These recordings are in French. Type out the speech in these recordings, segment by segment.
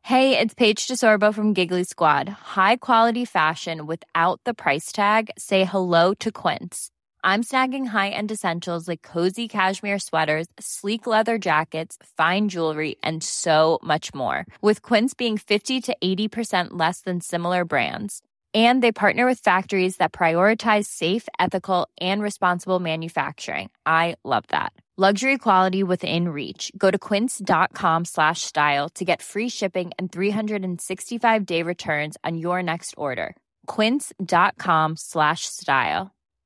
Hey, it's Paige DeSorbo from Giggly Squad. High quality fashion without the price tag. Say hello to Quince. I'm snagging high-end essentials like cozy cashmere sweaters, sleek leather jackets, fine jewelry, and so much more. With Quince being 50 to 80% less than similar brands. And they partner with factories that prioritize safe, ethical, and responsible manufacturing. I love that. Luxury quality within reach. Go to quince.com/style to get free shipping and 365-day returns on your next order. Quince.com/style.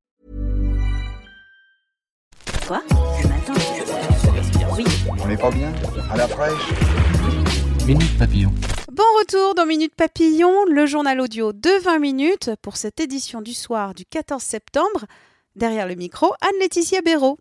Quoi? Le matin? Oui. On n'est pas bien? À la fraîche? Minute Papillon. Bon retour dans Minute Papillon, le journal audio de 20 minutes pour cette édition du soir du 14 septembre. Derrière le micro, Anne-Laetitia Béraud.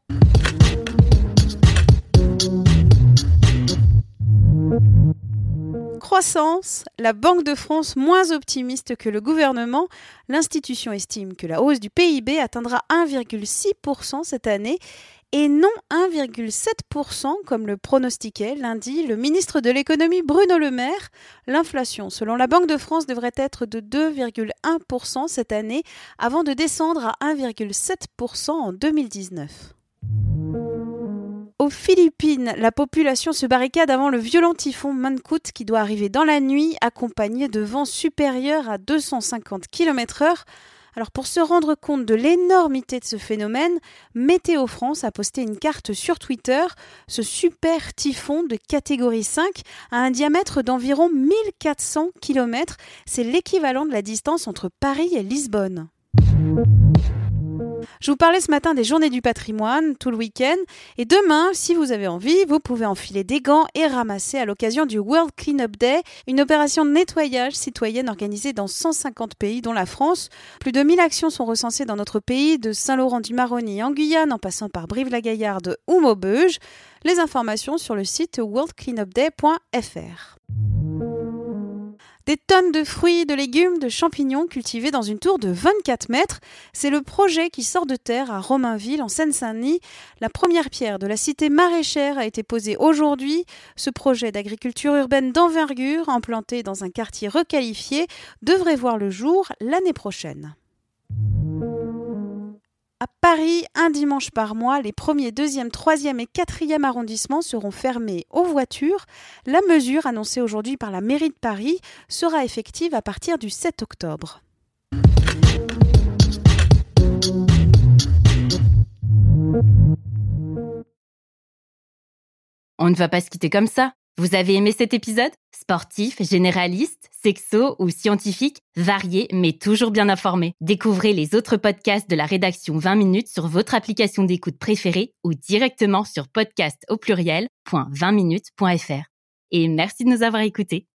Croissance, la Banque de France moins optimiste que le gouvernement. L'institution estime que la hausse du PIB atteindra 1,6% cette année et non 1,7% comme le pronostiquait lundi le ministre de l'économie Bruno Le Maire. L'inflation, selon la Banque de France, devrait être de 2,1% cette année avant de descendre à 1,7% en 2019. Aux Philippines, la population se barricade avant le violent typhon Mangkhut qui doit arriver dans la nuit, accompagné de vents supérieurs à 250 km/h. Alors pour se rendre compte de l'énormité de ce phénomène, Météo France a posté une carte sur Twitter. Ce super typhon de catégorie 5 a un diamètre d'environ 1400 km. C'est l'équivalent de la distance entre Paris et Lisbonne. Je vous parlais ce matin des Journées du patrimoine, tout le week-end. Et demain, si vous avez envie, vous pouvez enfiler des gants et ramasser à l'occasion du World Cleanup Day, une opération de nettoyage citoyenne organisée dans 150 pays, dont la France. Plus de 1000 actions sont recensées dans notre pays, de Saint-Laurent-du-Maroni en Guyane, en passant par Brive-la-Gaillarde ou Maubeuge. Les informations sur le site worldcleanupday.fr. Des tonnes de fruits, de légumes, de champignons cultivés dans une tour de 24 mètres. C'est le projet qui sort de terre à Romainville, en Seine-Saint-Denis. La première pierre de la cité maraîchère a été posée aujourd'hui. Ce projet d'agriculture urbaine d'envergure, implanté dans un quartier requalifié, devrait voir le jour l'année prochaine. À Paris, un dimanche par mois, les 1er, 2e, 3e et 4e arrondissements seront fermés aux voitures. La mesure, annoncée aujourd'hui par la mairie de Paris, sera effective à partir du 7 octobre. On ne va pas se quitter comme ça. Vous avez aimé cet épisode ? Sportif, généraliste, sexo ou scientifique, varié mais toujours bien informé. Découvrez les autres podcasts de la rédaction 20 minutes sur votre application d'écoute préférée ou directement sur podcast@20minutes.fr. Et merci de nous avoir écoutés.